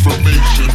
information.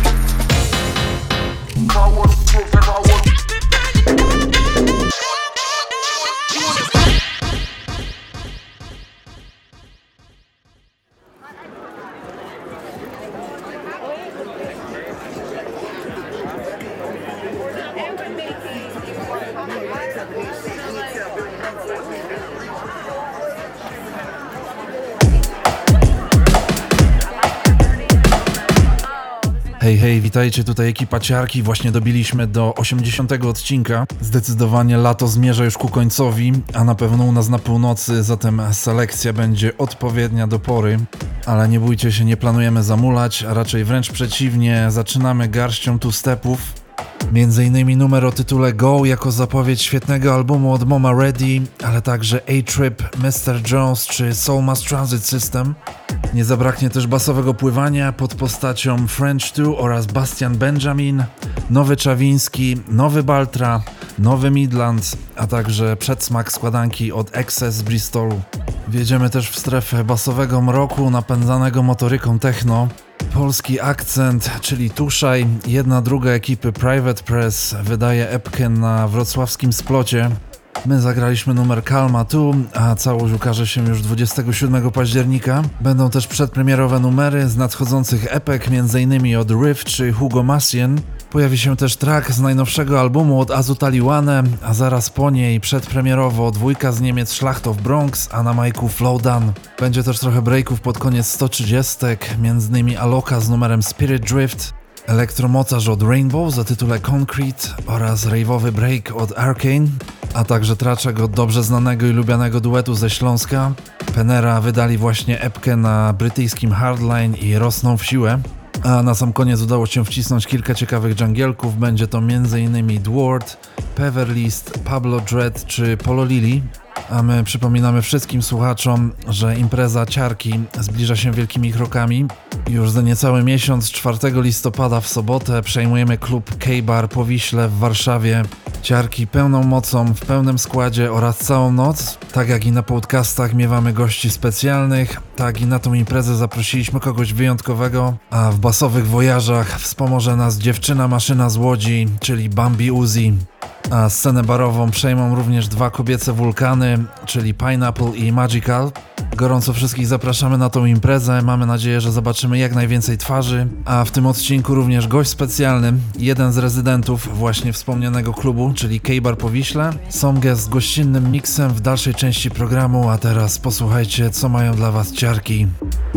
Hej, hej, witajcie, tutaj ekipa Ciarki, właśnie dobiliśmy do 80 odcinka. Zdecydowanie lato zmierza już ku końcowi, a na pewno u nas na północy, zatem selekcja będzie odpowiednia do pory. Ale nie bójcie się, nie planujemy zamulać, a raczej wręcz przeciwnie, zaczynamy garścią two-stepów. Między innymi numer o tytule Go jako zapowiedź świetnego albumu od Moma Ready, ale także A-Trip, Mr. Jones czy Soul Mass Transit System. Nie zabraknie też basowego pływania pod postacią French 2 oraz Bastian Benjamin, nowy Czawiński, nowy Baltra, nowy Midlands, a także przedsmak składanki od Excess z Bristolu. Wjedziemy też w strefę basowego mroku napędzanego motoryką techno. Polski akcent, czyli Tuszaj, jedna druga ekipy Private Press wydaje epkę na wrocławskim Splocie. My zagraliśmy numer Calma tu, a całość ukaże się już 27 października. Będą też przedpremierowe numery z nadchodzących epek, m.in. od Riff czy Hugo Massien. Pojawi się też track z najnowszego albumu od Azutaliwane, a zaraz po niej przedpremierowo dwójka z Niemiec Schlacht of Bronx, a na majku Flowdown. Będzie też trochę breaków pod koniec 130, m.in. Aloka z numerem Spirit Drift, elektromocarz od Rainbow o tytule Concrete oraz rave'owy break od Arcane, a także traczek od dobrze znanego i lubianego duetu ze Śląska. Penera wydali właśnie epkę na brytyjskim Hardline i rosną w siłę. A na sam koniec udało się wcisnąć kilka ciekawych dżungielków, będzie to m.in. Dward, Peverlist, Pablo Dread czy Polo Lili. A my przypominamy wszystkim słuchaczom, że impreza Ciarki zbliża się wielkimi krokami. Już za niecały miesiąc, 4 listopada w sobotę przejmujemy klub K-Bar po Wiśle w Warszawie. Ciarki pełną mocą, w pełnym składzie oraz całą noc. Tak jak i na podcastach miewamy gości specjalnych, tak i na tą imprezę zaprosiliśmy kogoś wyjątkowego, a w basowych wojażach wspomoże nas dziewczyna maszyna z Łodzi, czyli Bambi Uzi. A scenę barową przejmą również dwa kobiece wulkany, czyli Pineapple i Magical. Gorąco wszystkich zapraszamy na tą imprezę, mamy nadzieję, że zobaczymy jak najwięcej twarzy, a w tym odcinku również gość specjalny, jeden z rezydentów właśnie wspomnianego klubu, czyli K-Bar po Wiśle. Songę z gościnnym miksem w dalszej części programu, a teraz posłuchajcie, co mają dla was Ciarki.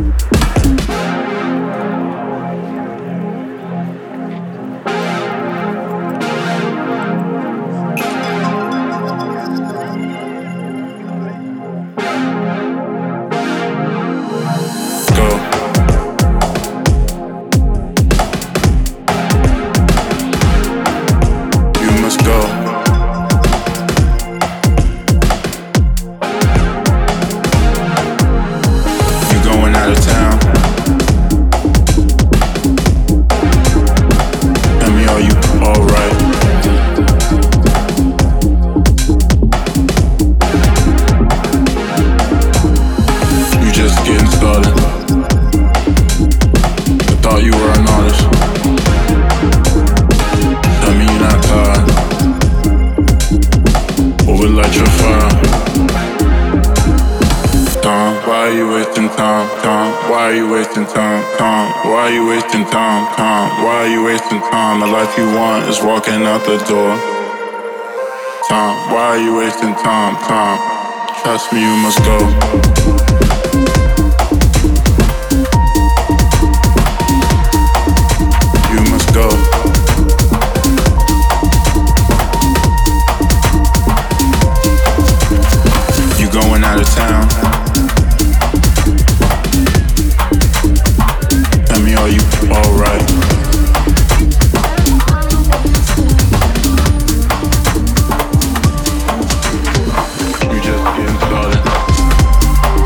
Walking out the door. Time, why are you wasting time? Time, trust me, you must go. You must go. You going out of town? Tell me, are you alright? You just getting started.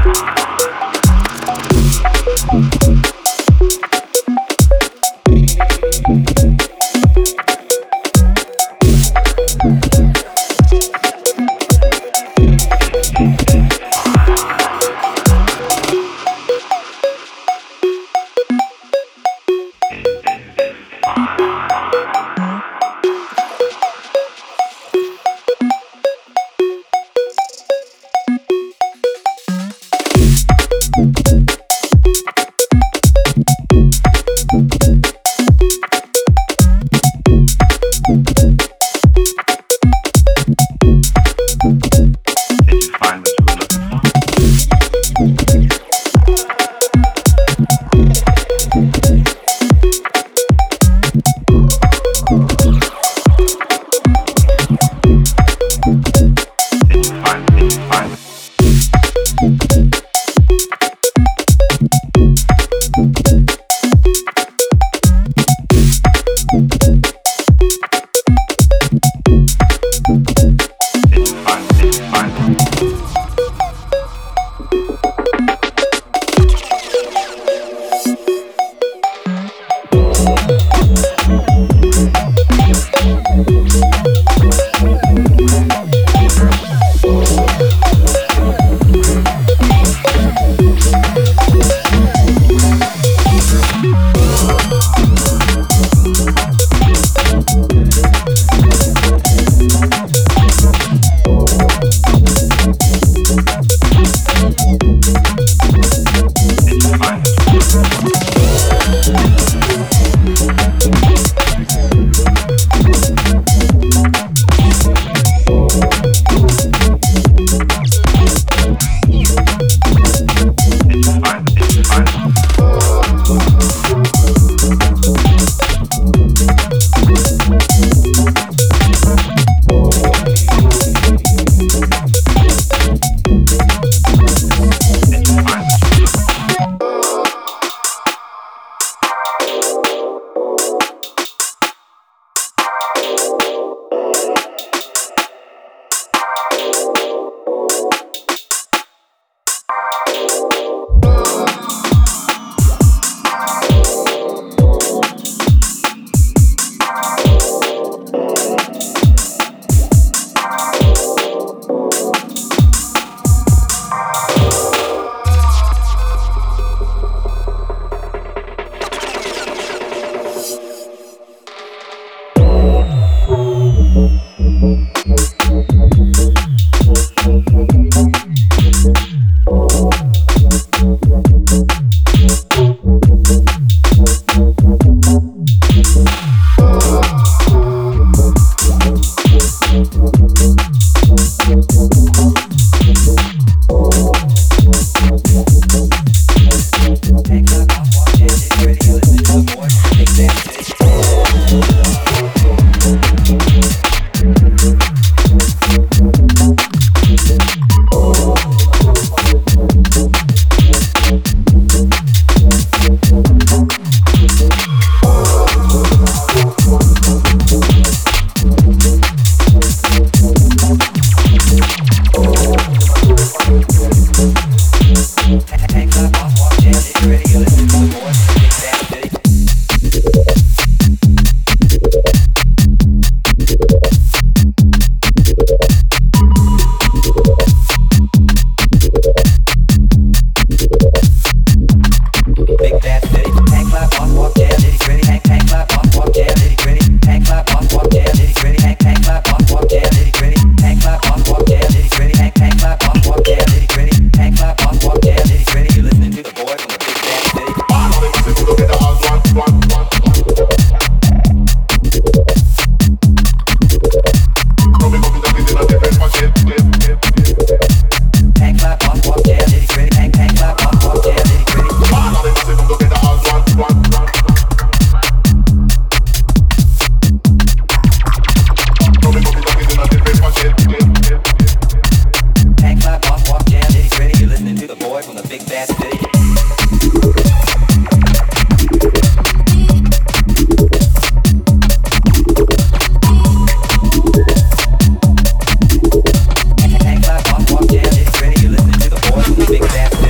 Big Bad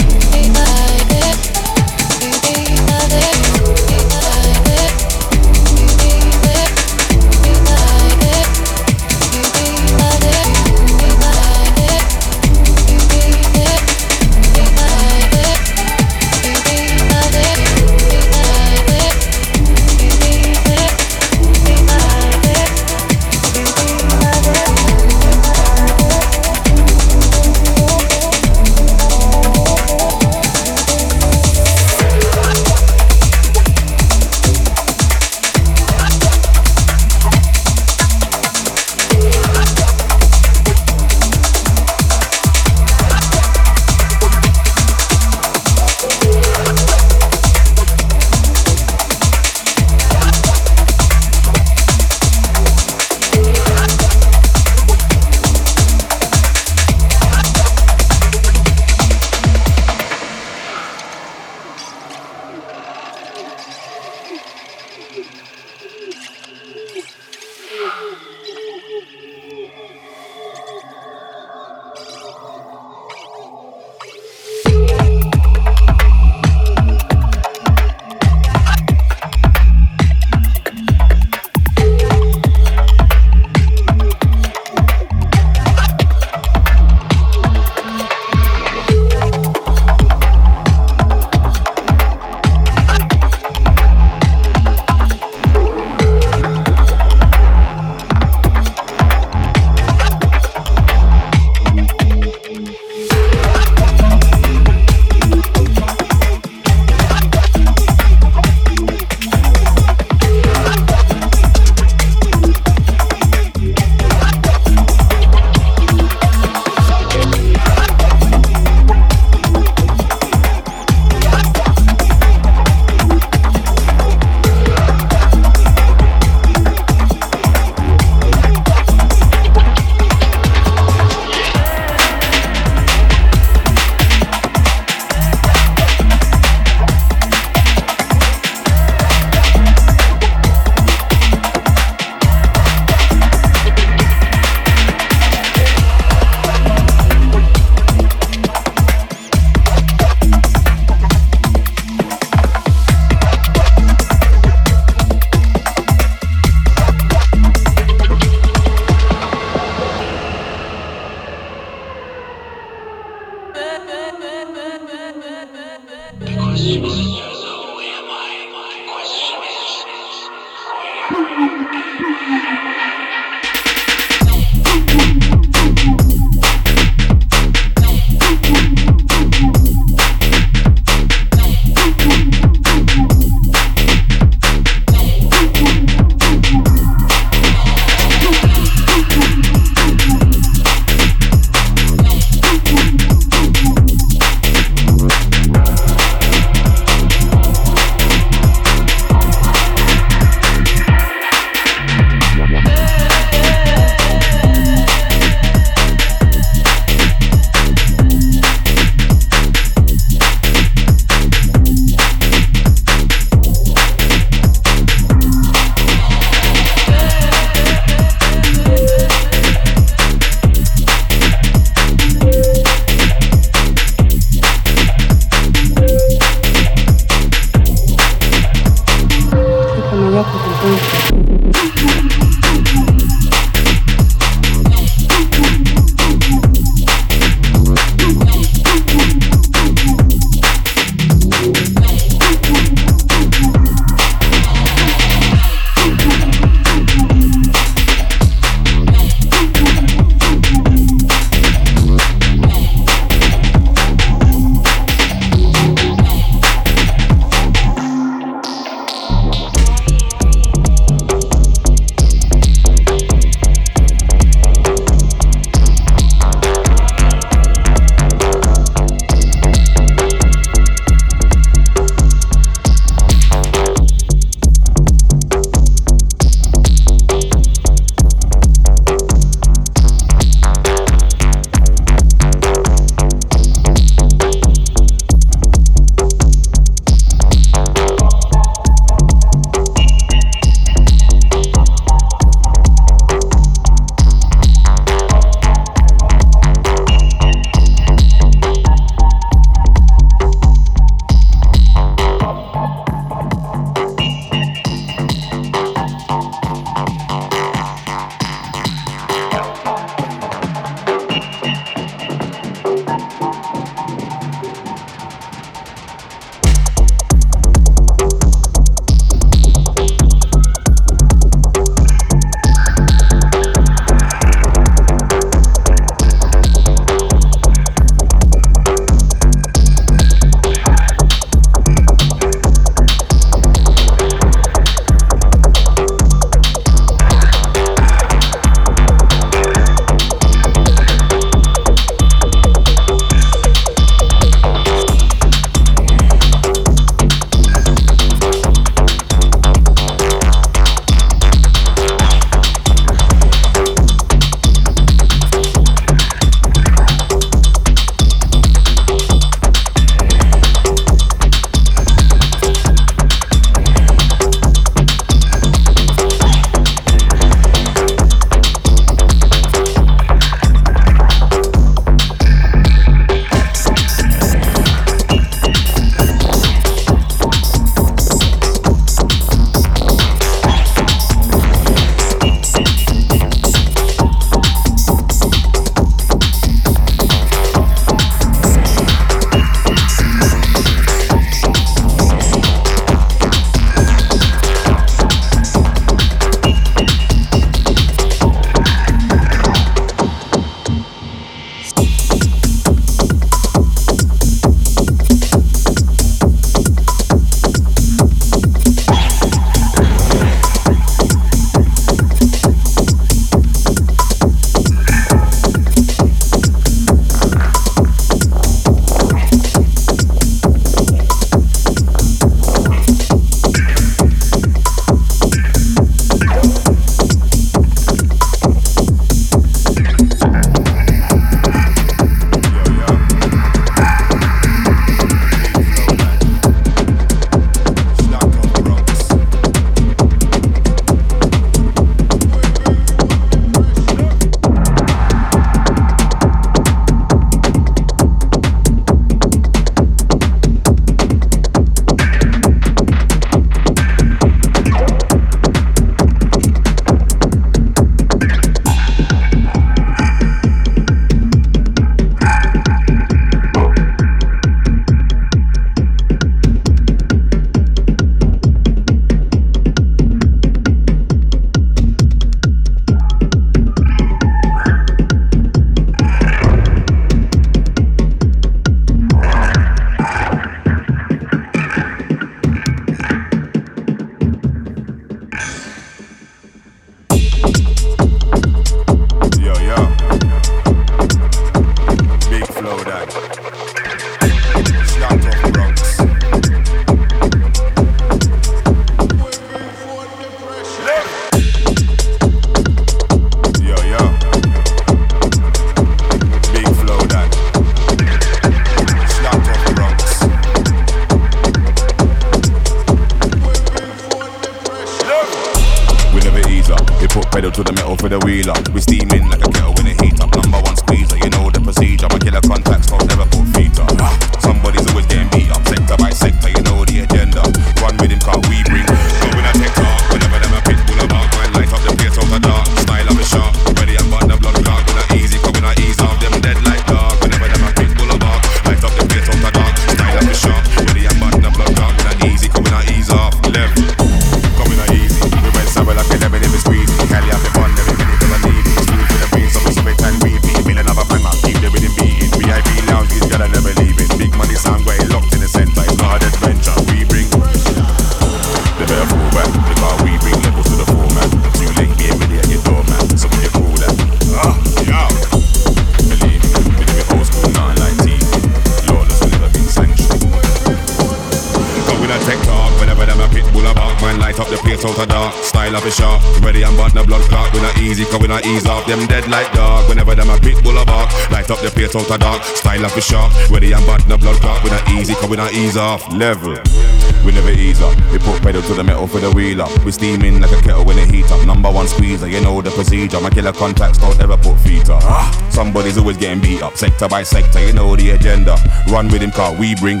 put pedal to the metal for the wheeler. We steaming like a kettle when it heat up. Number one squeezer, you know the procedure. My killer contacts don't never put feet up. Somebody's always getting beat up, sector by sector, you know the agenda. Run with him, car we bring. So when I take talk, whenever them a pit bull about, man light up the place out the dark. Style of a shark, ready and button the blood clot. When I easy, coming I ease off them dead like dog. Whenever them a pit bull about, light up the place out the dark. Style of a shark, ready and button the blood clot. When I easy, coming I ease off. Level, coming I easy. We went somewhere like a lemon in the squeeze. Cali off the fun, every minute of a need. Smooth with the breeze, so we submit and repeat. Feel another banger, keep the rhythm beating. VIP lounge, these gotta never leave it. Big money sound great, locked in the center. It's not an adventure, we bring. They better fall back, because we bring levels to the format. Too late, be ready at your door, man. So when you call that, yeah. Believe me, we do it old school, nothing like TV. Lawless will never been sanctioned. But when I take talk, whenever them a pit bull about, man light up the place out of dark. Style of a shark, ready and button the blood clot. When I easy, cause when I ease off, them dead like dog. Whenever them a pit bull about, light up the place out of dark. Style of a shark, ready and button the blood clot. When I easy, cause when I ease off, level. We never ease up, we put pedal to the metal for the wheeler. We steaming like a kettle when it heat up. Number one squeezer, you know the procedure. My killer contacts don't ever put feet up. Somebody's always getting beat up, sector by sector, you know the agenda. Run with him, car we bring.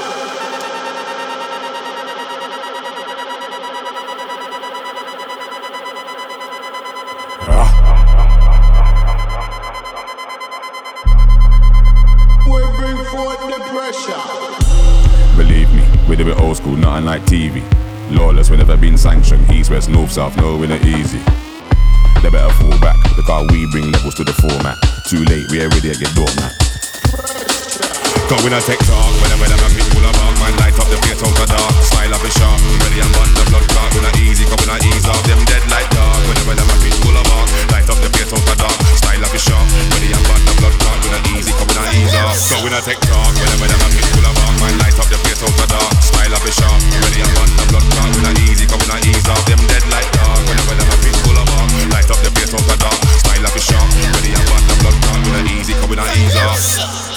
We bring forth the pressure. Believe me, we do it old school, nothing like TV. Lawless, we never been sanctioned. East, west, north, south, no, we're not easy. They better fall back, because we bring levels to the format. Too late, we ain't ready at your door, man. Cause when I take talk, whenever them a people about, man light up the place out the dark. Style of a shark, ready and button the blood clot. When I easy, cause when I ease off, them dead like dog. Whenever them a people about, light up the place out the dark. Style of a shark, ready and button the blood clot. When I easy, cause when I ease off. So when I take talk, whenever them a people about, man light up the place out the dark. Style of a shark, ready and button the blood clot. When I easy, cause when I ease off, them dead like dog. Whenever them a people about, light up the place out the dark. Style of a shark, ready and button the blood clot. When I easy, cause when I ease off.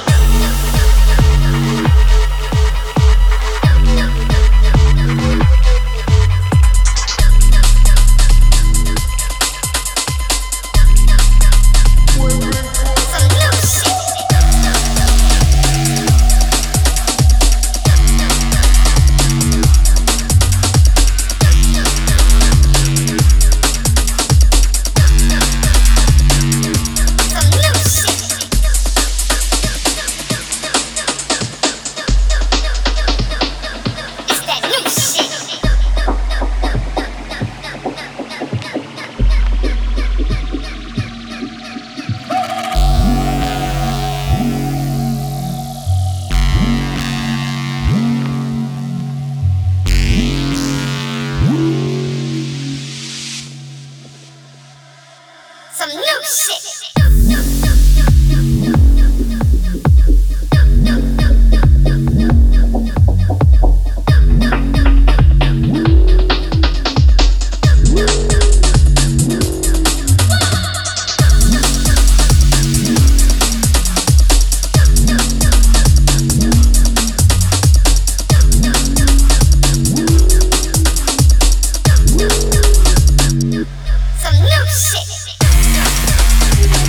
Some new shit. Some new shit.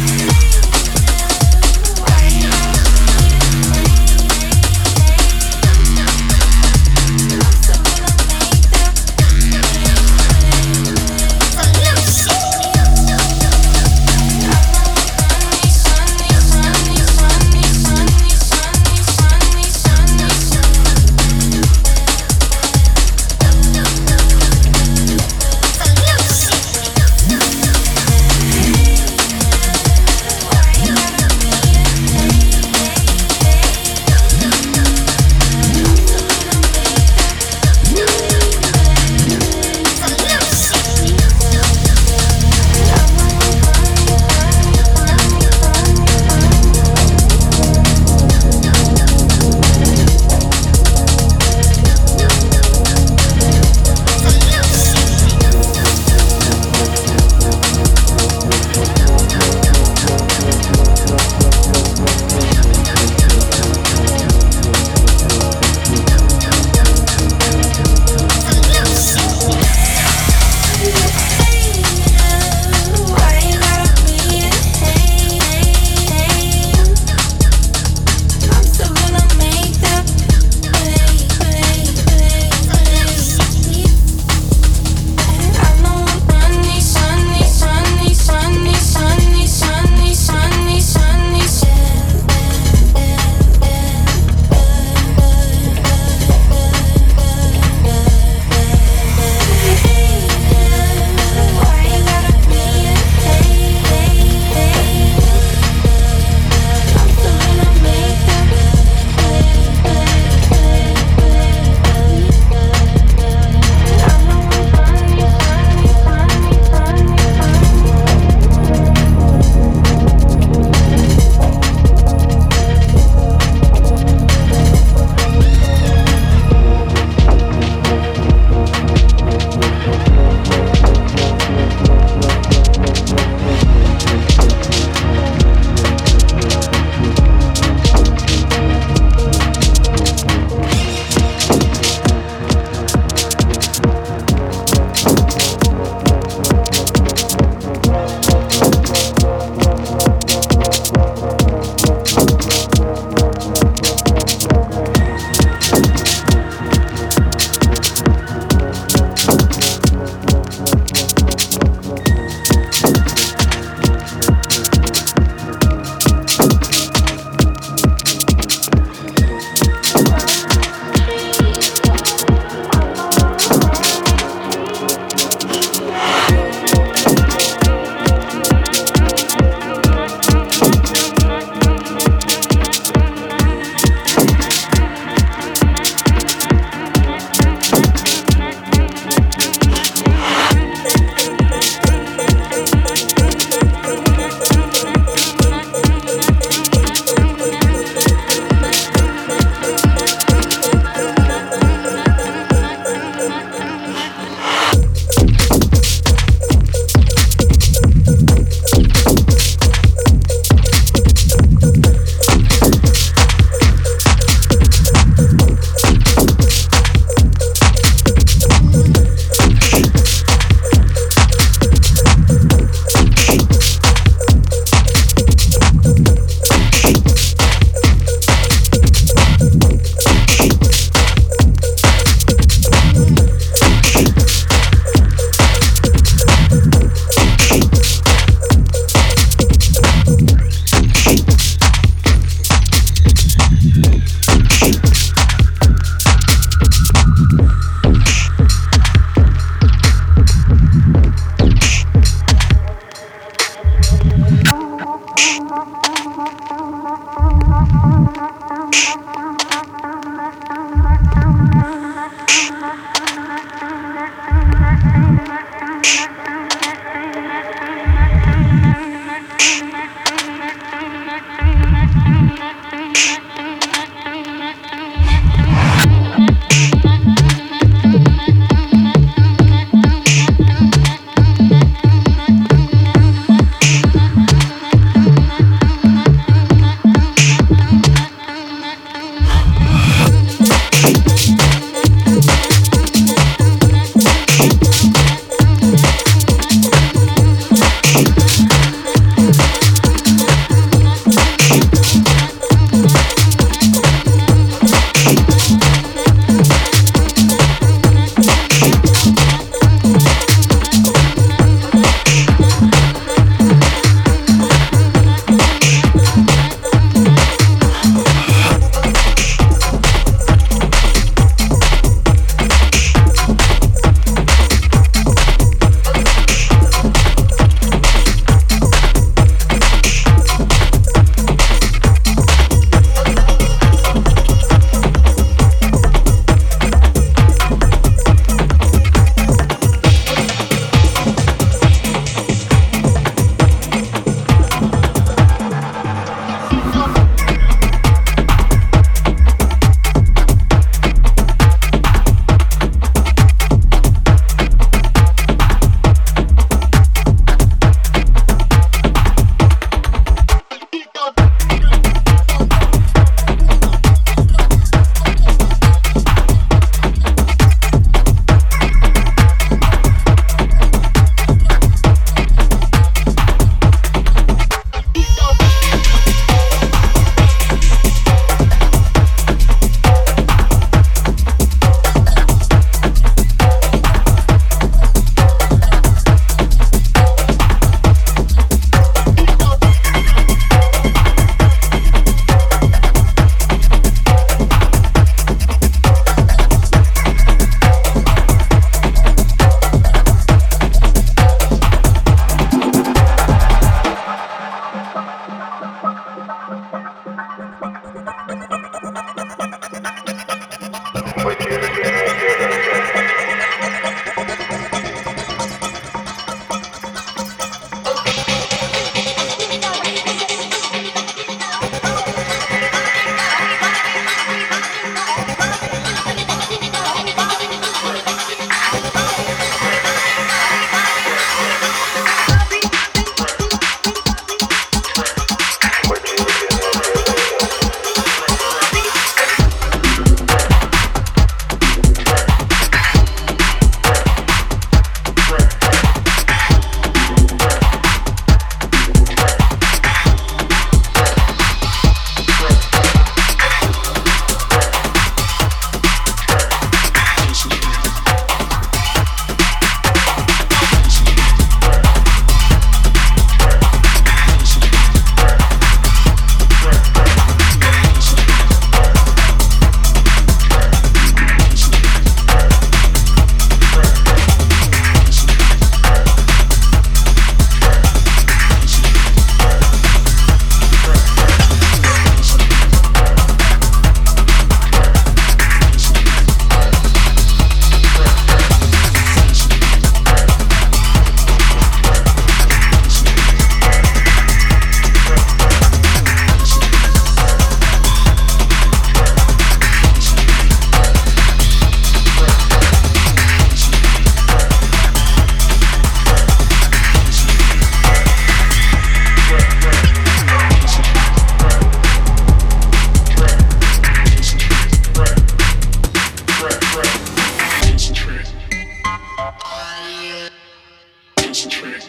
Concentrate.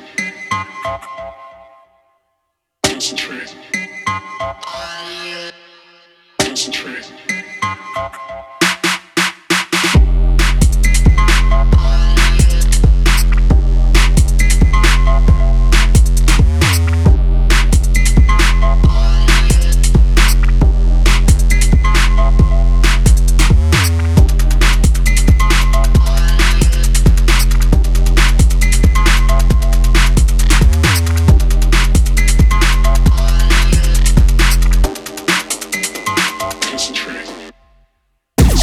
Concentrate. Concentrate. Concentrate.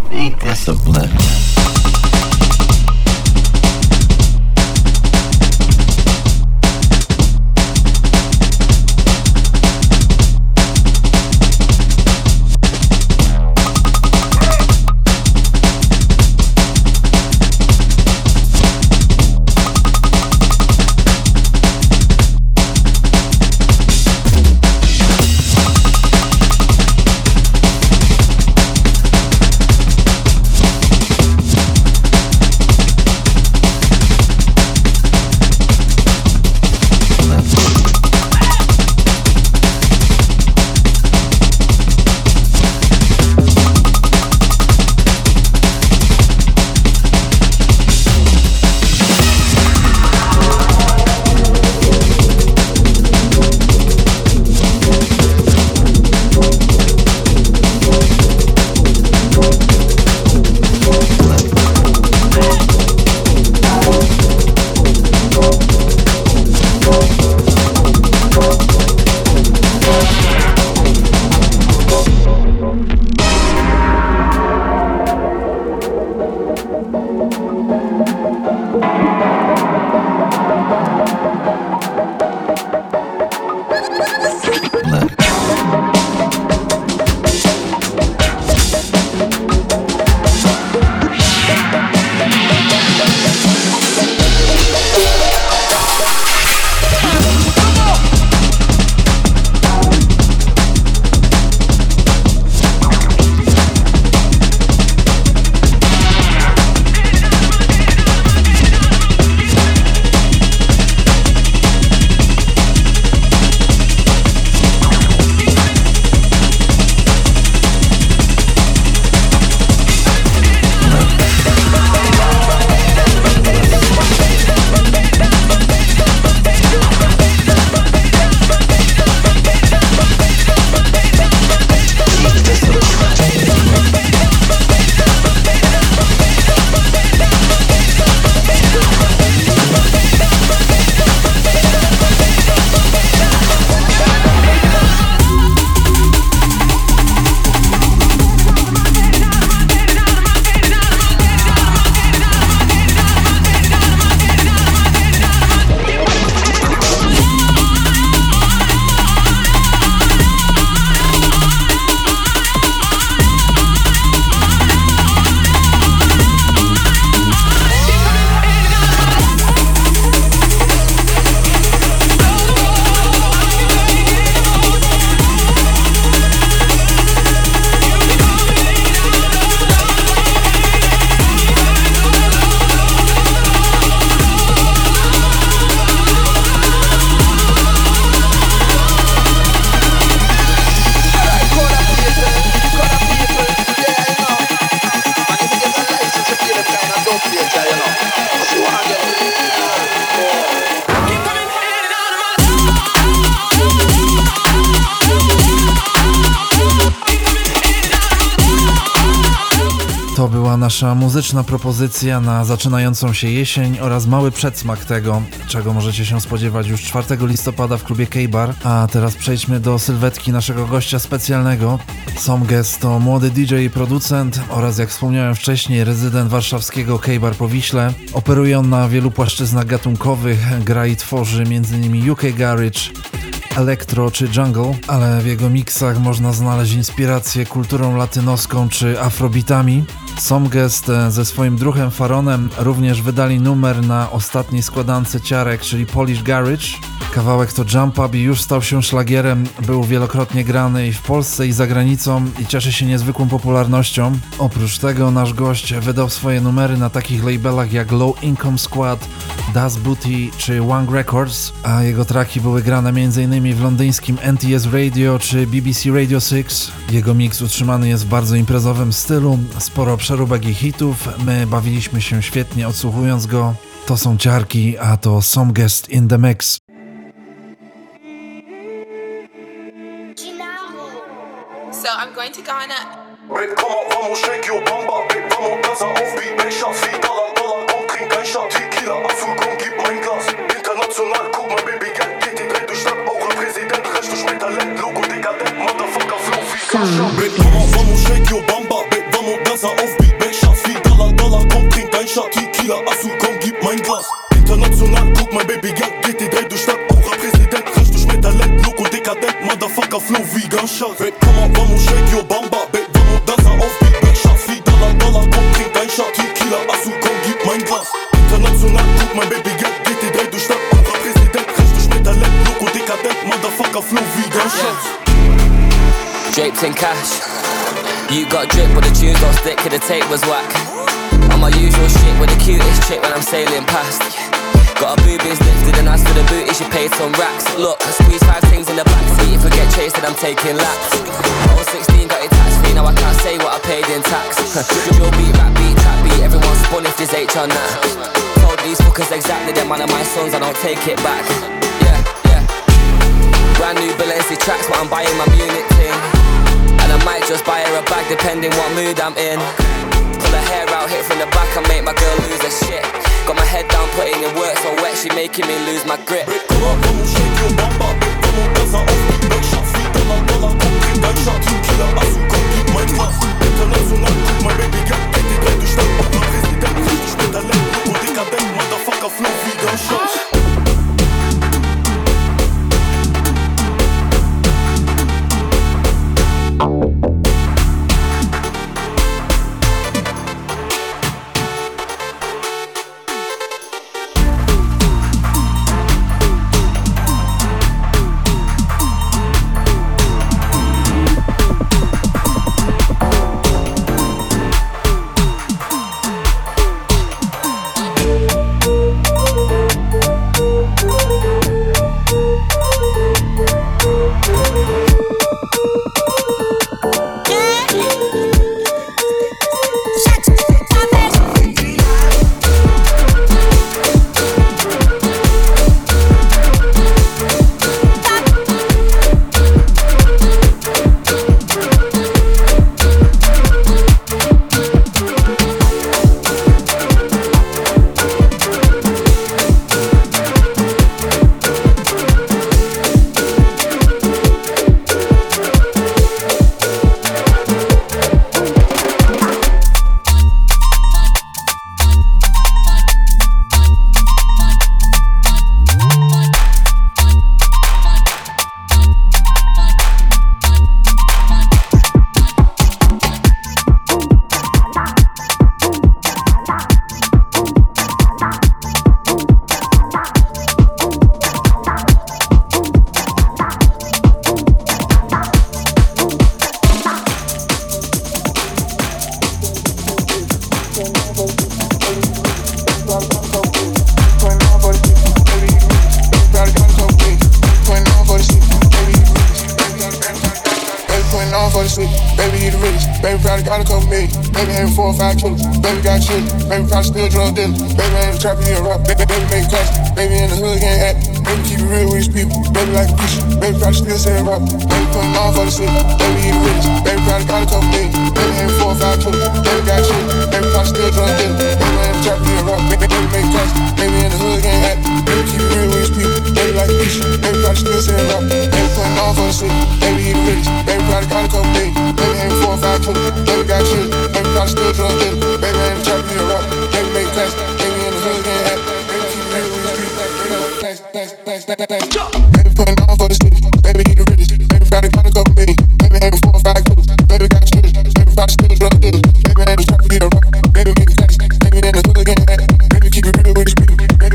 Ain't that some blend? To była nasza muzyczna propozycja na zaczynającą się jesień oraz mały przedsmak tego, czego możecie się spodziewać już 4 listopada w klubie K-Bar. A teraz przejdźmy do sylwetki naszego gościa specjalnego. Somguest to młody DJ i producent oraz, jak wspomniałem wcześniej, rezydent warszawskiego K-Bar po Wiśle. Operuje on na wielu płaszczyznach gatunkowych, gra i tworzy m.in. UK Garage, elektro czy jungle, ale w jego miksach można znaleźć inspirację kulturą latynoską czy afrobeatami. Somguest ze swoim druhem Faronem również wydali numer na ostatniej składance ciarek, czyli Polish Garage. Kawałek to Jump Up i już stał się szlagierem, był wielokrotnie grany i w Polsce i za granicą i cieszy się niezwykłą popularnością. Oprócz tego nasz gość wydał swoje numery na takich labelach jak Low Income Squad, Das Booty czy One Records, a jego traki były grane m.in. w londyńskim NTS Radio czy BBC Radio 6. Jego mix utrzymany jest w bardzo imprezowym stylu, sporo przeróbek i hitów, my bawiliśmy się świetnie odsłuchując go. To są ciarki, a to Somguest in the Mix. So I'm going to Ghana. Babe, komm auf, vamos, shake your bamba. Babe, vamos, Gaza auf wie Becher. 4 Dollar, komm, trink ein Shot. Tequila, Apfel, komm, gib mein Glas. International, guck mal, Baby, Geld geht die Dreh durch Stadt. Auch ein Präsident, recht durch mein Talent. Logo, dekadent, Motherfucker, Flow wie Kascha. Babe, komm auf, vamos, shake your bamba. Babe, vamos, Gaza auf Offbeat, make shots, $4, komm, trink dein Shot. Tequila, Asu, komm, gib mein Glas. International, guck mein Baby, Geld, geht die Dreh durch Stadt. Aura-Präsident, frisch durch mit Talent, Loco, dekadent, Motherfucker, Flow wie Gunshot. Babe, komm on, vamos, shake your bamba. Babe, vamos, dansa, Offbeat, make shots, $4, komm, trink dein Shot. Tequila, Asu, komm, gib mein Glas. International, guck mein Baby, Geld, geht die Dreh durch Stadt. Aura-Präsident, frisch durch mit Talent, Loco, dekadent, Motherfucker, Flow wie Gunshot. Draped in cash. You got drip, but the tunes don't stick, cause the tape was whack. I'm my usual shit with the cutest chick when I'm sailing past. Got her boobies lifted and as for the booty, she paid some racks. Look, I squeeze 5 things in the backseat. If I get chased, then I'm taking laps. I was 16, got it tax free, now I can't say what I paid in tax. Drill beat, rap beat, trap beat, everyone spun if there's H on that. Told these fuckers exactly, them man of my sons, I don't take it back. Yeah. Brand new Balenci tracks, but I'm buying my Munich thing. And I might just buy her a bag depending what mood I'm in. Pull her hair out, hit from the back and make my girl lose her shit. Got my head down, putting in work so wet, she making me lose my grip. Come on, vamos, shake your bamba. Vamos, dansa, Offbeat, make shots, $4, komm, trink dein Shot. Tequila, Asu, komm, gib mein Glas. International, guck mein Baby, Geld, geht die Dreh durch Stadt. Aura-Präsident, frisch durch mit Talent, Loco, dekadent, Motherfucker, Flow wie Gunshot. Baby got shit, baby probably still drunk dealing. Baby ain't trapping in rock, baby make cash. Baby in the hood getting at. Baby keep it real with his people, baby like a preacher. Baby probably still saying rock, baby putting on for the city. Baby eat rich, baby probably got a couple things. Baby ain't 4 or 5 killers, baby got shit, baby probably still drunk dealing. Baby ain't trapping in rock, baby make cash. Baby in the hood getting at. Baby keep it real with his people, baby like a preacher. Baby probably still saying rock, baby putting on for the city. Baby eat rich, baby probably got a couple things. Baby ain't 4 or 5 killers, baby got shit, baby probably still drunk dealing. Baby ain't trapping in rock, baby make cash. Baby in the hood getting at. Baby keep it real with his people, baby putting on for the city. Baby eat the richest, baby probably got a couple things. Baby ain't 4 or 5 killers, baby got shit, baby probably still drunk dealing. Baby ain't trapping in rock, baby make cash. Baby in the hood getting at. Baby keep it real with his people, baby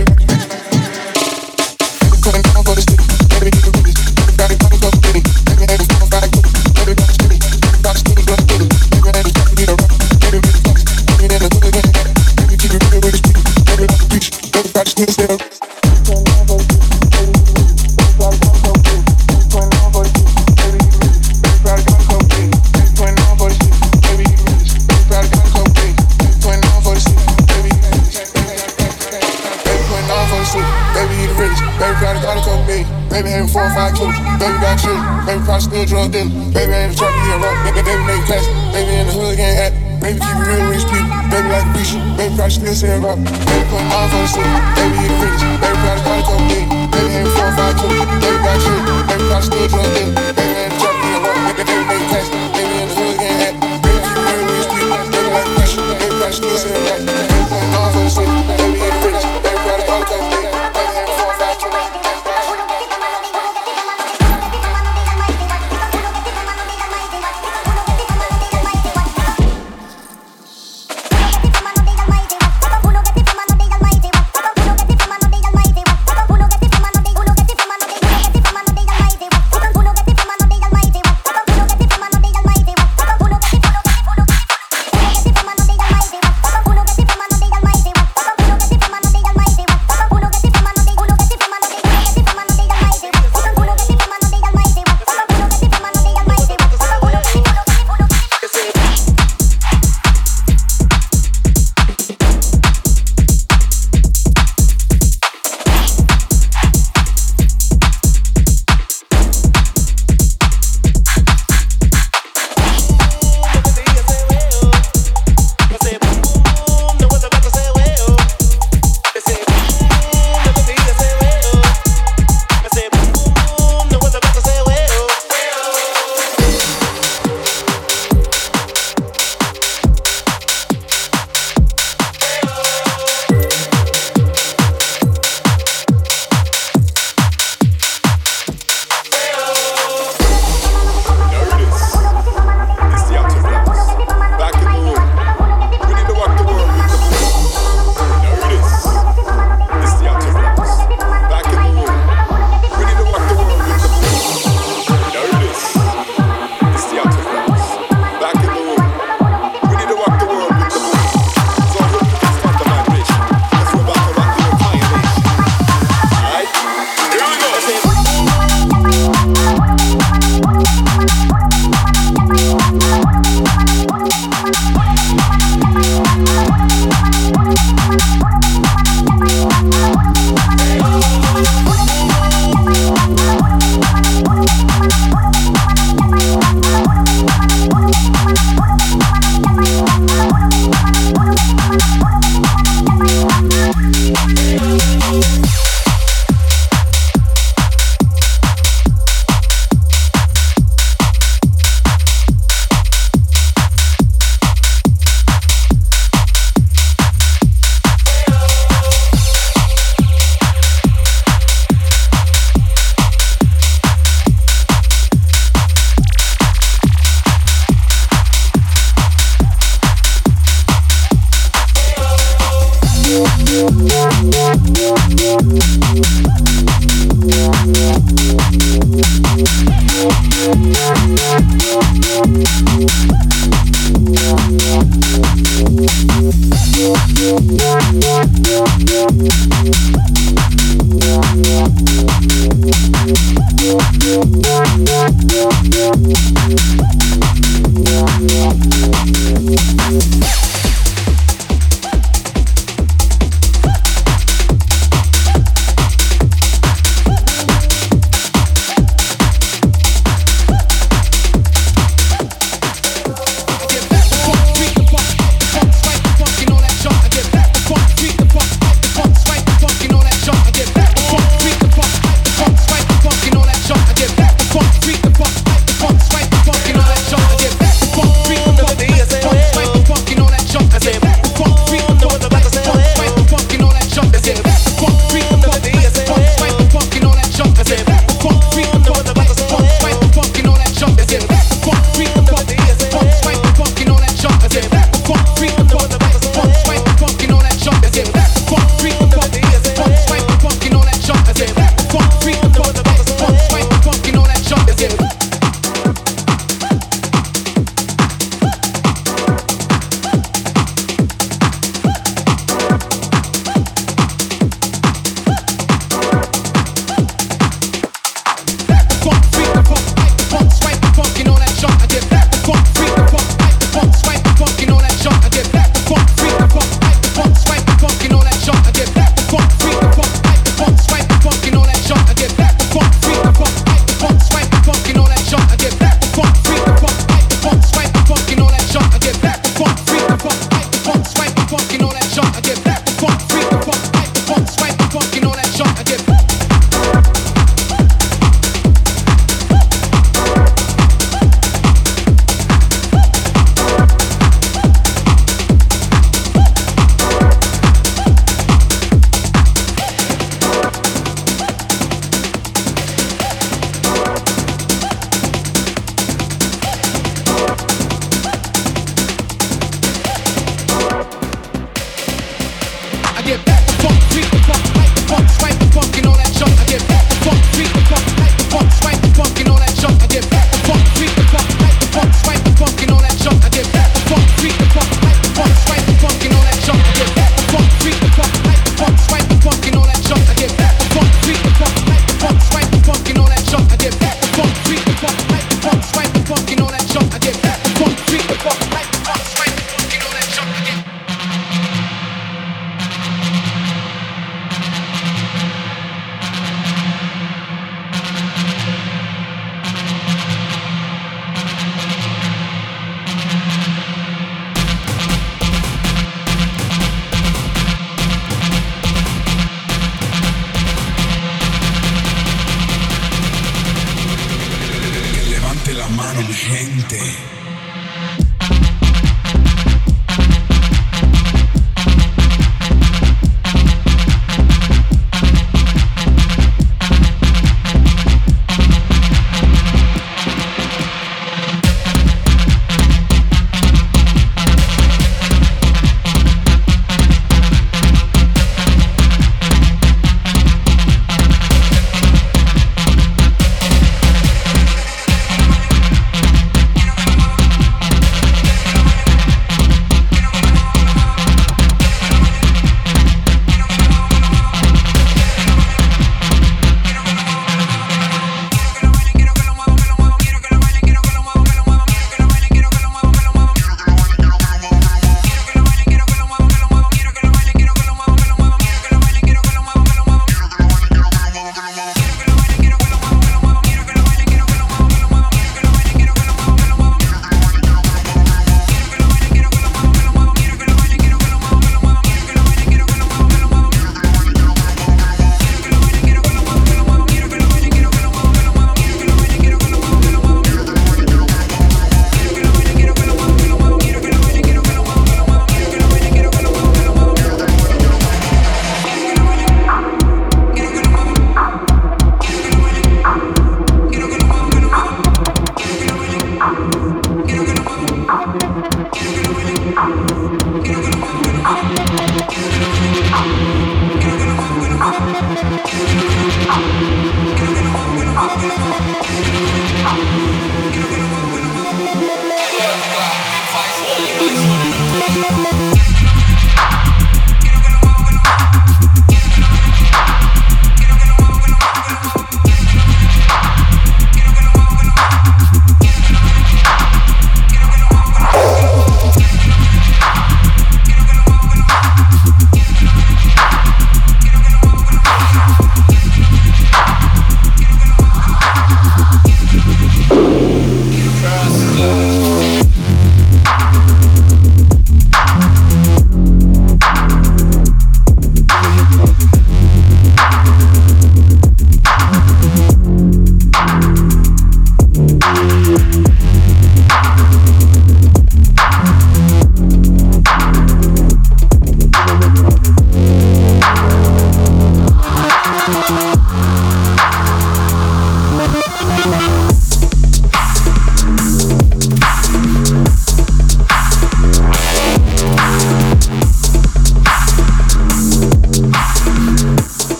putting on for the city. Baby eat the richest, baby probably got a couple things. Baby ain't 4 or 5 killers, baby got shit, baby probably still drunk dealing. Baby ain't trapping in rock, baby make cash. Baby in the hood getting at. Baby keep it real with his people, baby like a preacher. Baby probably still saying. Baby having 4 or 5 killers, baby got shit, baby probably still drunk dealing. Baby ain't trying to get rock, baby make cash, baby in the hood getting at. Baby keep it real with his people, baby like a preacher, baby probably still saying rock. Baby putting on for the city, baby eat the rich, baby probably got a couple things. Baby having 4 or 5 killers, baby got shit, baby probably still drunk dealing. Baby ain't trying to get rock, baby make cash, baby in the hood getting at. Baby keep it real with his people, baby like a preacher,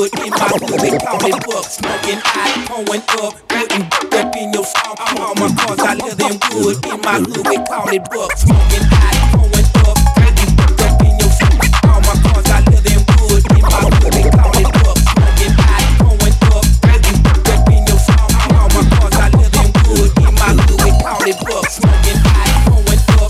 wood in my hood, they call it book. Smoking hot, pouring up, putting up in your phone. All my cars I live in wood in my hood, they call it book. Smoking hot, pouring up, putting up in your phone. All my cars I live in wood in my hood, they call it book. Smoking hot, pouring up, putting up in your phone. All my cars I live in wood in my hood, they call it book. Smoking hot, pouring up.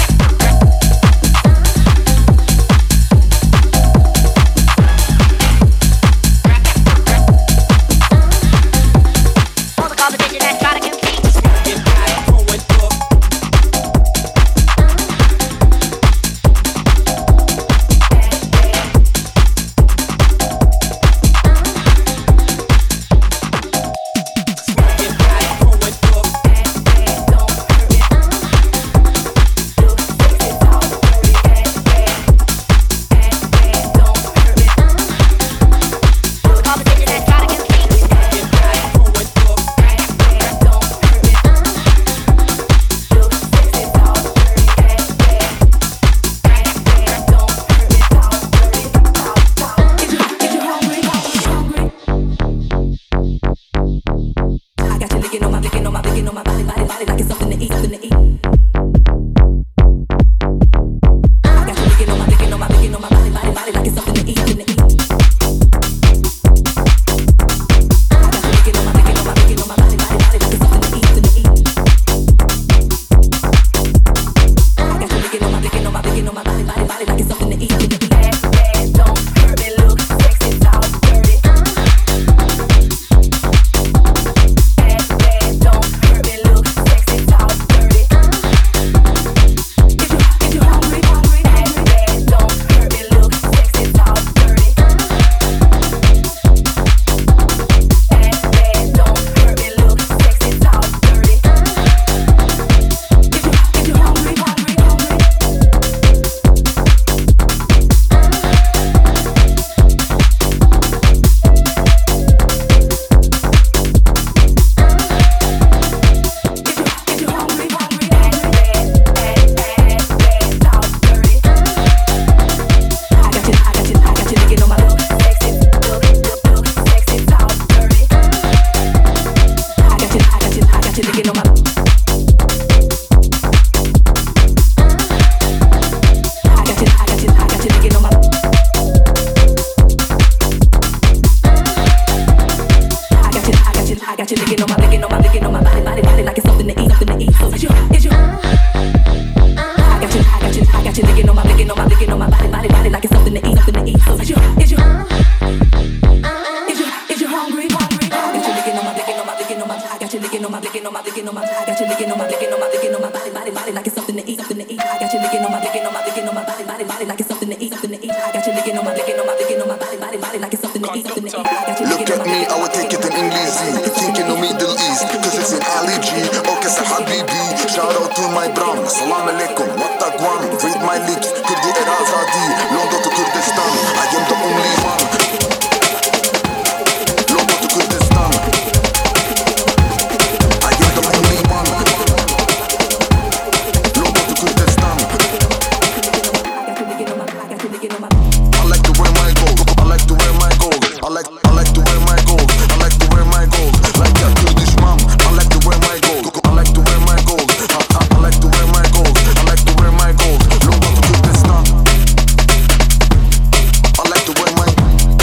Look at me, I would take it in English, thinking of Middle East, cause it's an Ali G, okay, Habibi. Shout out to my brown, salam alaikum, what the guan, read my lips, Kurdi Erazadi, London to Kurdistan, I am the only one. London to Kurdistan, I am the only one. London to Kurdistan. I like to wear my gold, I like to wear my gold, I like to wear my gold, I like to wear my gold, like a Kurdish mom, I like to wear my gold, I like to wear my gold, I like to wear my gold, I like to wear my gold, London to Kurdistan, I like to wear my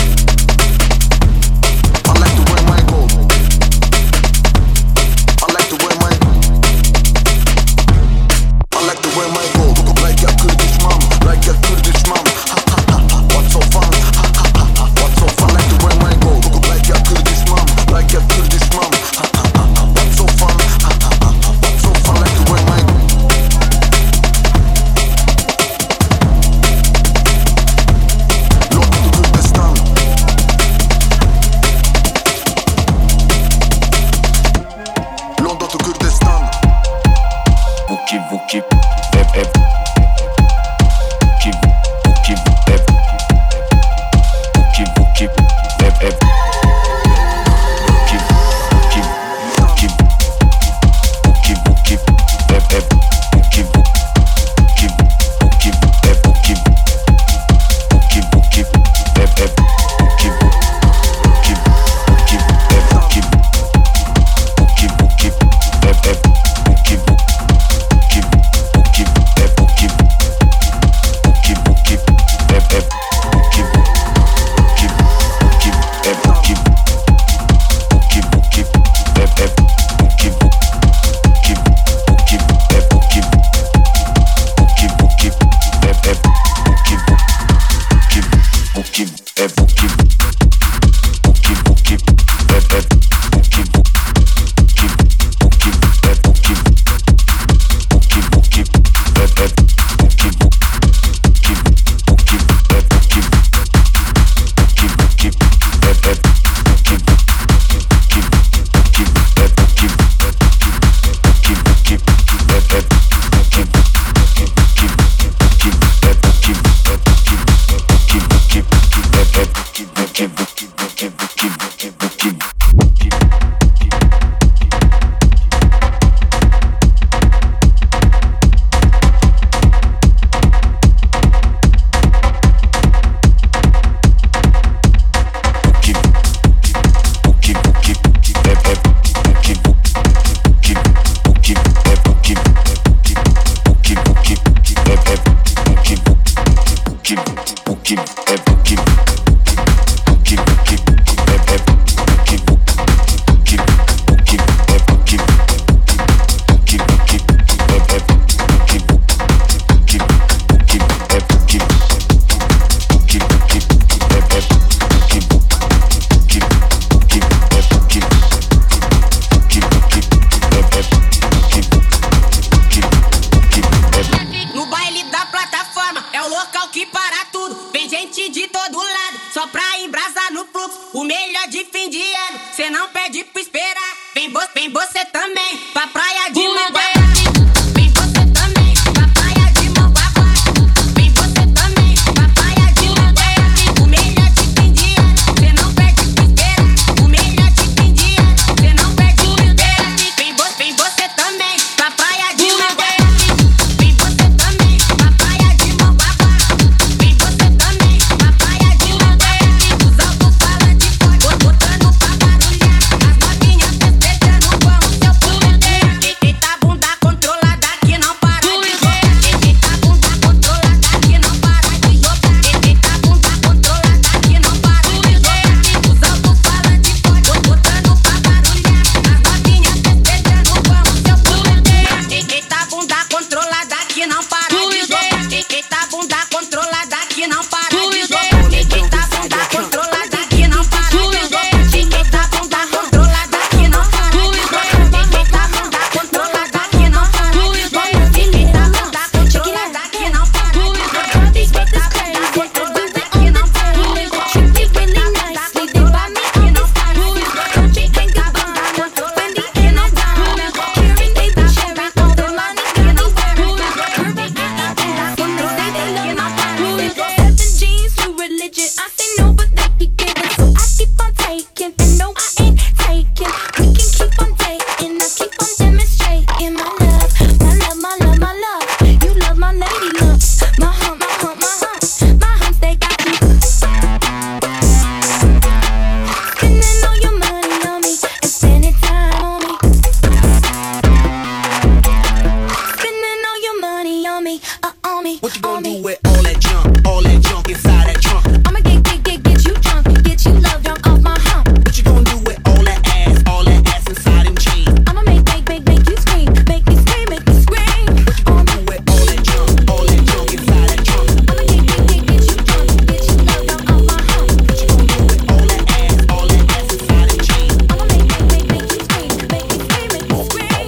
me. What you gonna do with all that junk inside that trunk? I'ma get you drunk, get you love drunk off my hump. What you gonna do with all that ass inside them jeans? I'ma make you scream, make me scream, make me scream. What you gonna do with all that junk inside that trunk? I'ma get you drunk, get you love drunk off my hump. What you gonna do with all that ass inside them jeans? I'ma make you scream, make me scream, make me scream.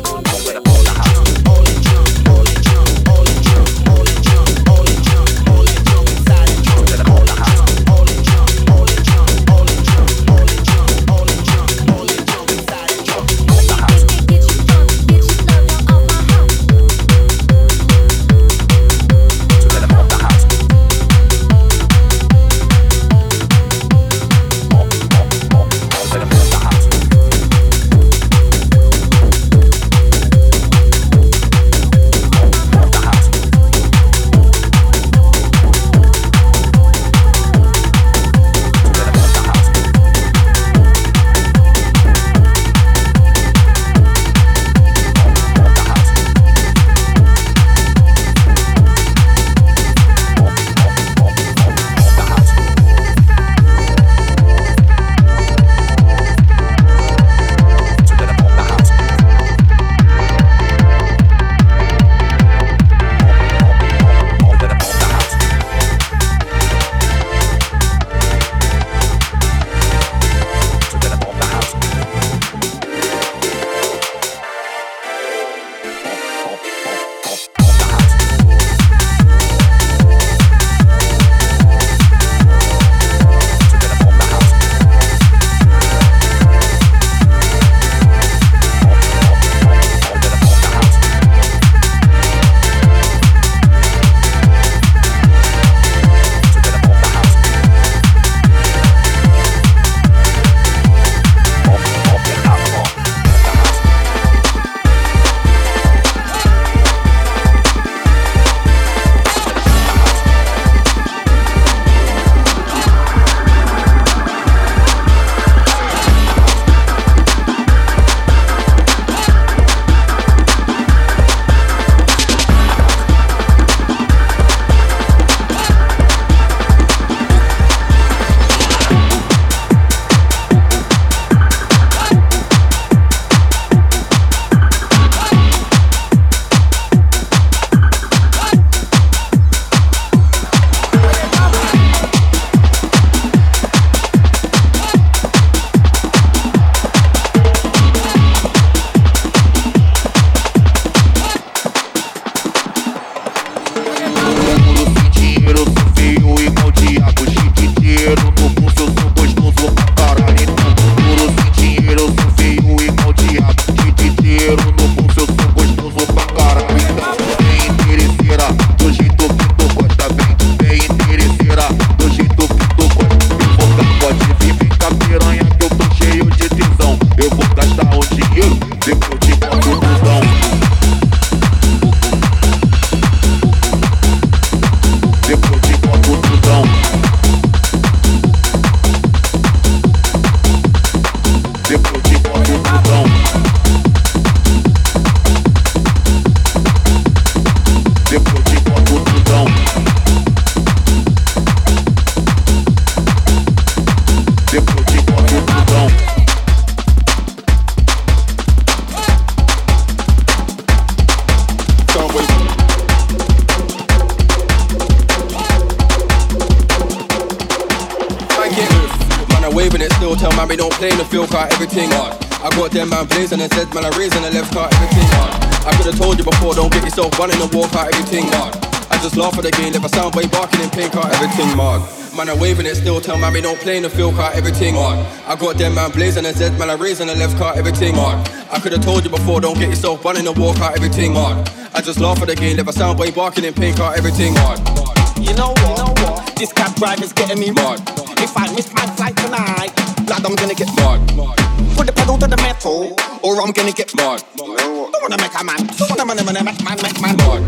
man, we don't play in the field car, everything hard. I got them man blazing and said, man, I raised and I left car, everything hard. I could've told you before, don't get yourself running and walk out, everything hard. I just laugh at the game, never sound boy barking in pain car, everything hard. Man, I'm waving it still, tell man, we don't play in the field car, everything hard. I got them man blazing and said, man, I raised and I left car, everything hard. I could've told you before, don't get yourself running and walk out, everything hard. I just laugh at the game, never sound boy barking in pain car, everything hard. You know what? This cab driver's getting me mad. If I miss my flight tonight, lad, I'm gonna get mad. Put the pedal to the metal, or I'm gonna get mad. Don't wanna make a man, don't wanna make man mad.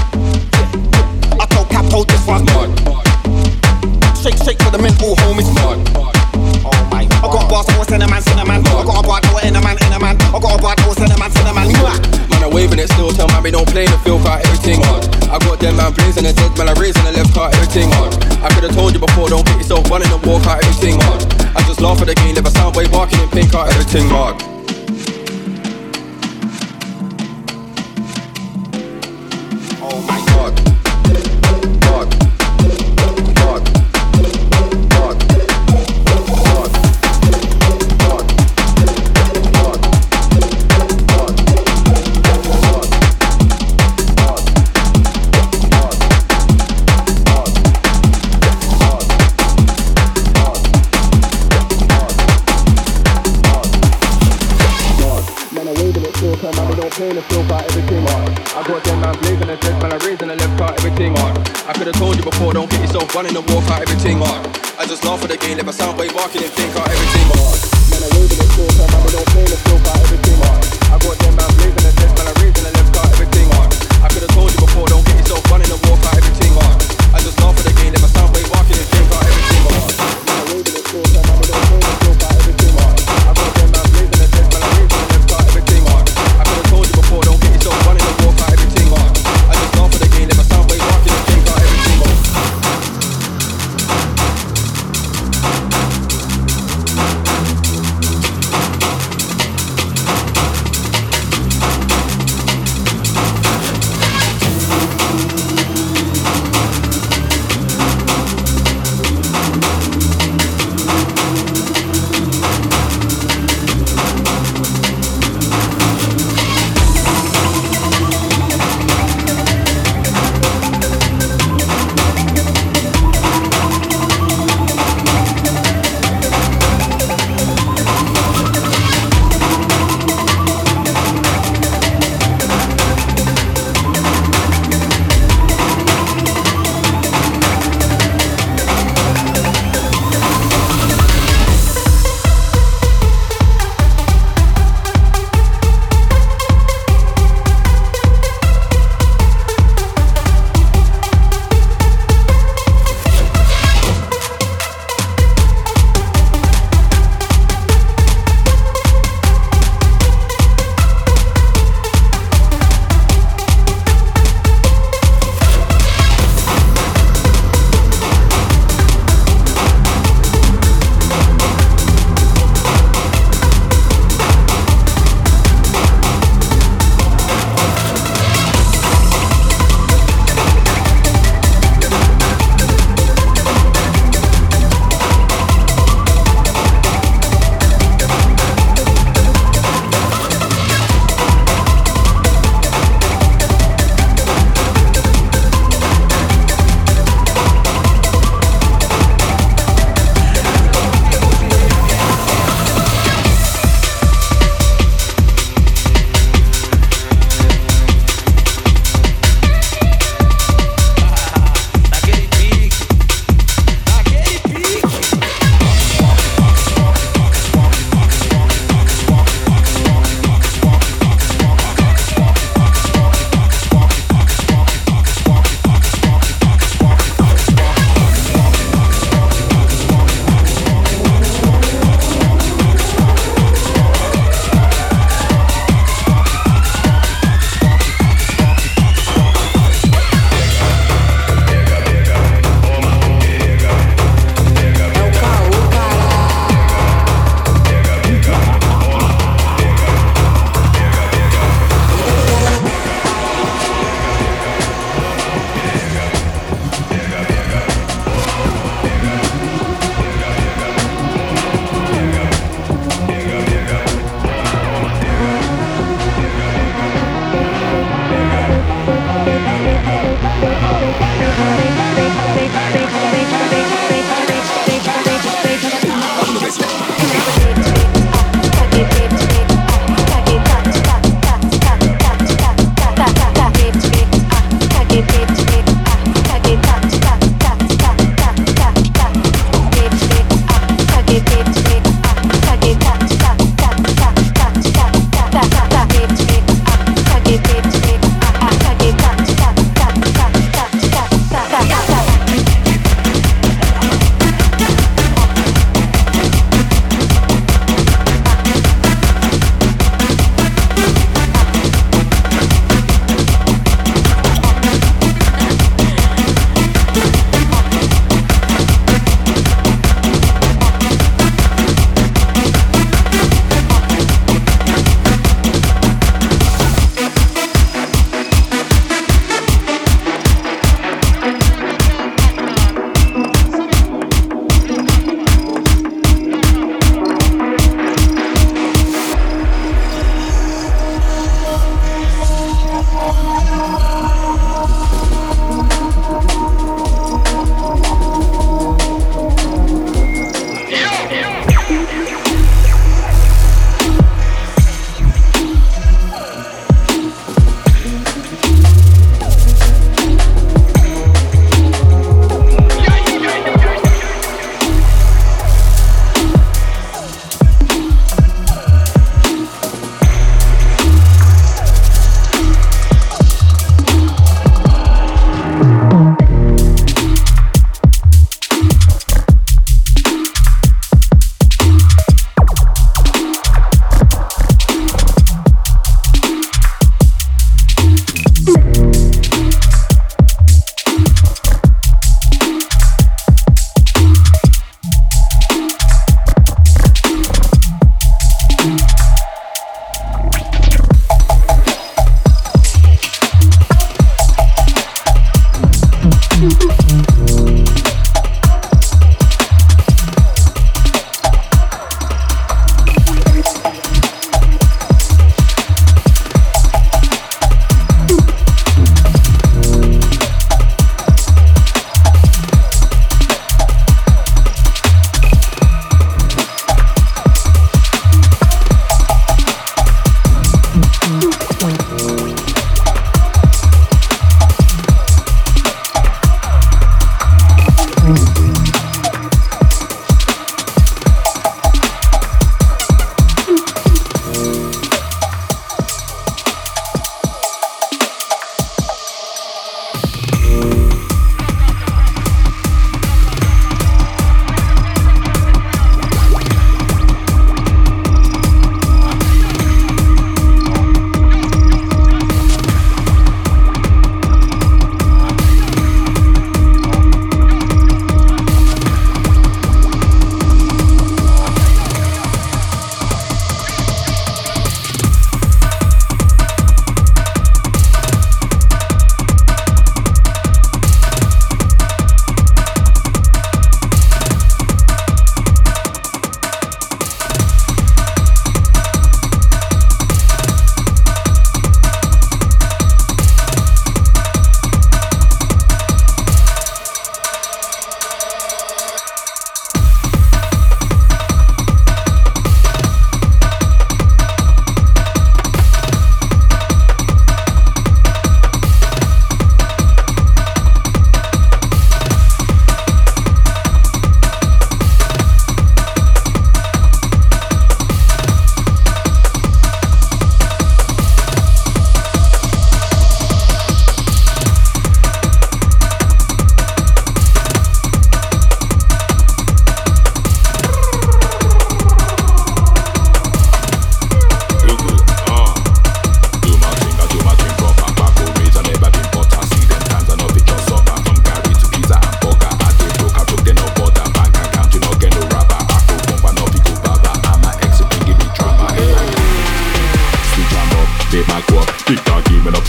I told Capo this one mad. Shake for the mental home is mad. Oh my, I got a boss, I was cinnamon. I got a bar, I was in a man. I got a bar, I was cinnamon. Man, I'm waving it still, tell man we don't play the field, car everything hard. I got them man blazing the dead, man I raising the left, car everything hard. I could've told you before, don't get yourself running the walk, car everything hard. I just laugh at the game, never sound way barking in pink, car everything hard. Oh my god. I could've told you before, don't get yourself running the walk out, everything hard. I just laugh at the game, never sound way barking and think out everything hard. Man, I waving it still, man, I don't play the field out, everything hard. I got them man blazing the dead, man, I raising the left car, everything hard. I could've told you before, don't get yourself running the walk out, everything hard. I just laugh at the game, never sound way barking and think out everything hard. Man, I waving it still, man, I don't play the field out, everything hard. I got them man blazing the dead, man, I raising the left car, everything hard. I could've told you before, don't get yourself running the walk out, everything hard. I just laugh at the game, never sound way barking and think out everything hard.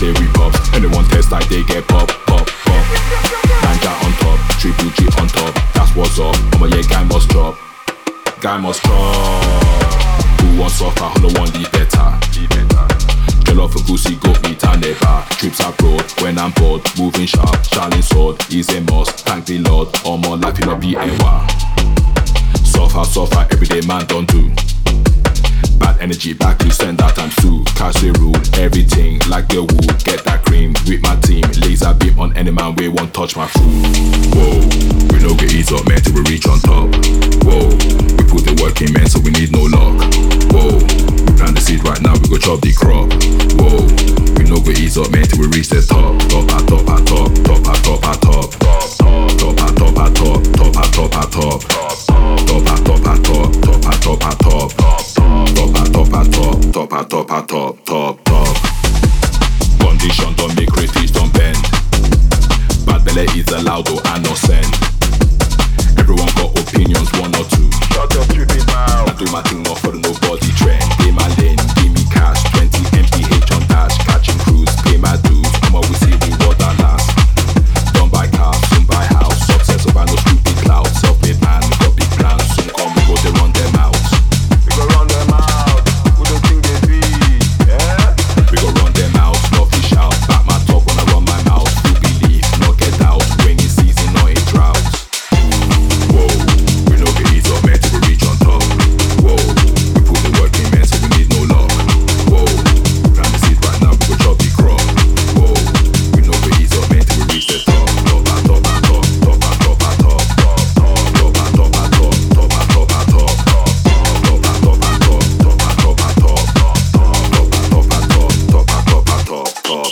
say we pops. Anyone test like they get pop, pop, pop. Ninja on top, Triple G on top. That's what's up. Oh yeah, guy must drop. Guy must drop. Who wants soccer? Who no one the better? Girl off a goosey, goat meat and never. Trips abroad when I'm bored. Moving sharp, shining sword is a must. Thank the Lord, all my life in a BNY. Suffer, everyday man don't do. Bad energy, back to send out and sue. Cash the rule, everything like the wood. Get that cream with my team. Laser beam on any man, we won't touch my food. Whoa, we no get ease up, man, till we reach on top. Whoa, we put the work in, man, so we need no luck. Whoa, we plant the seed right now, we go chop the crop. Whoa, we no get ease up, man, till we reach the top. Top, at top, at top, top, at top, at top. Top, at top, at top, top, at top, at top. Top, at top, at top, top, at top, at top. Top, at top, at top, top, at top, at top, top, top. Condition don't make crayfish don't bend. Bad belly is allowed though I no send. Everyone got opinions, one or two. Shut your stupid mouth. I do my thing, not for nobody trend. Pay my lane, give me cash, 20 MPH on dash. Catching cruise, pay my dues. Come on, we see the world that last. Don't buy cars, soon buy house. Success over no stupid cloud. Self-made man, we got big plans. Soon come, we go, they run them out. We go run them out. Who don't think they be? Yeah? We go run them out, no fish out. Back my talk when I run my mouth. You believe, no get out. Rainy season, no in drought. Whoa, we no get ease up, man, till we reach on top. Whoa, we put the work in, man, so we need no luck. Whoa, plant the seed right now, we go chop the crop. Whoa, we no get ease up, man, till we reach the top. Top, at top, at top, top, at top, at top. Top, at top, at top, top, at top, at top. Top, at top, at top, top, at top, at top. Top, at top, at top, top, at top, at top, top.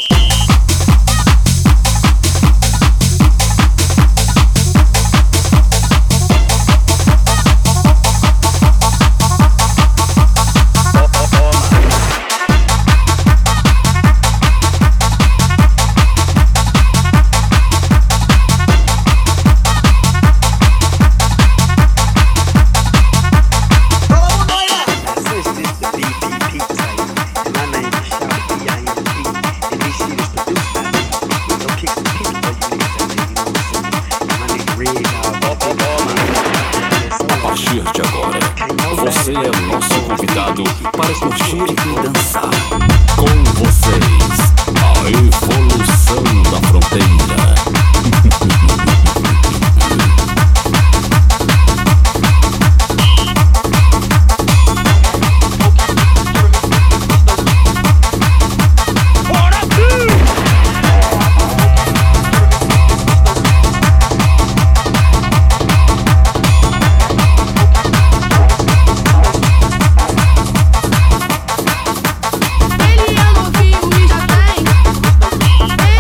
A partir de agora, você é o nosso convidado para curtir e dançar. Com vocês, a evolução da fronteira. Ele é novinho e já tem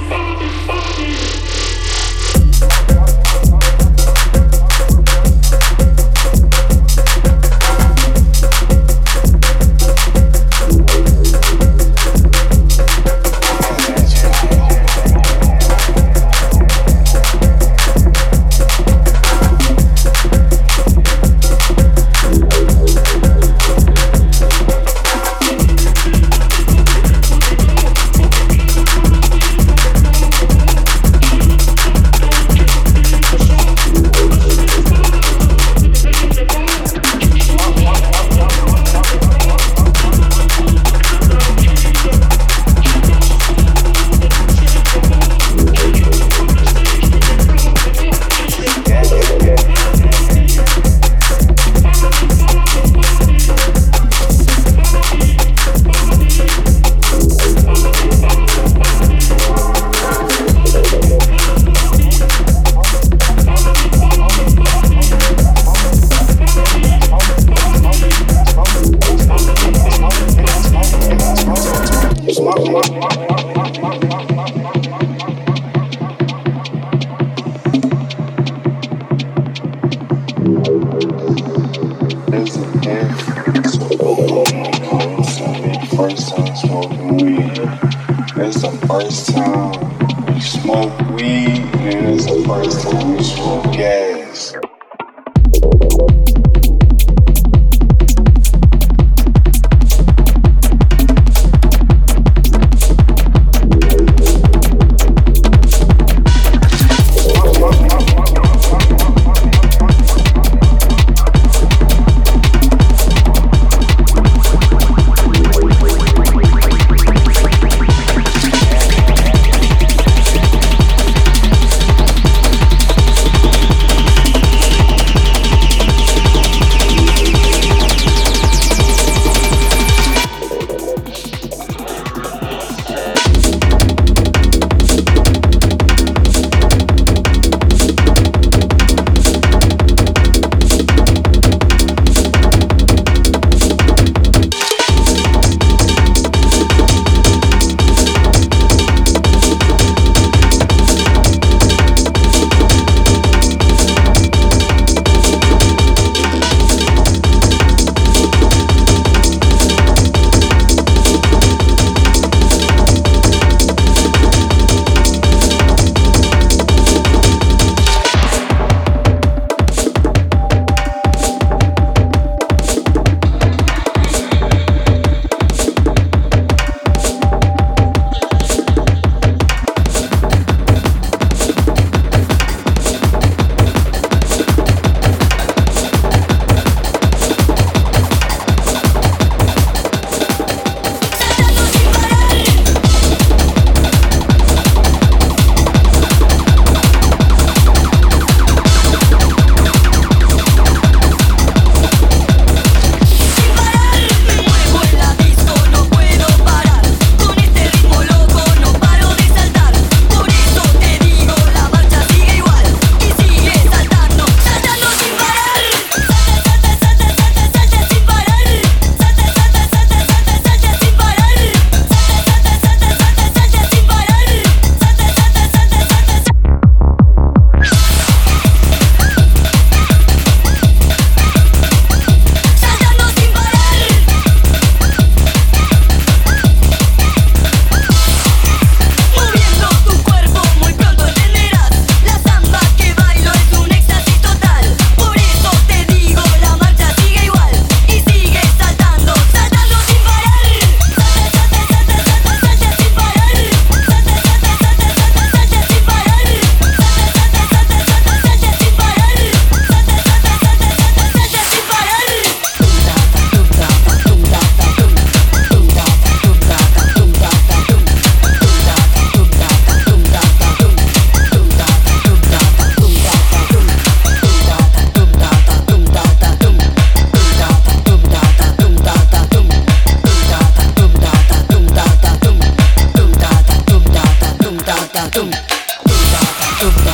tum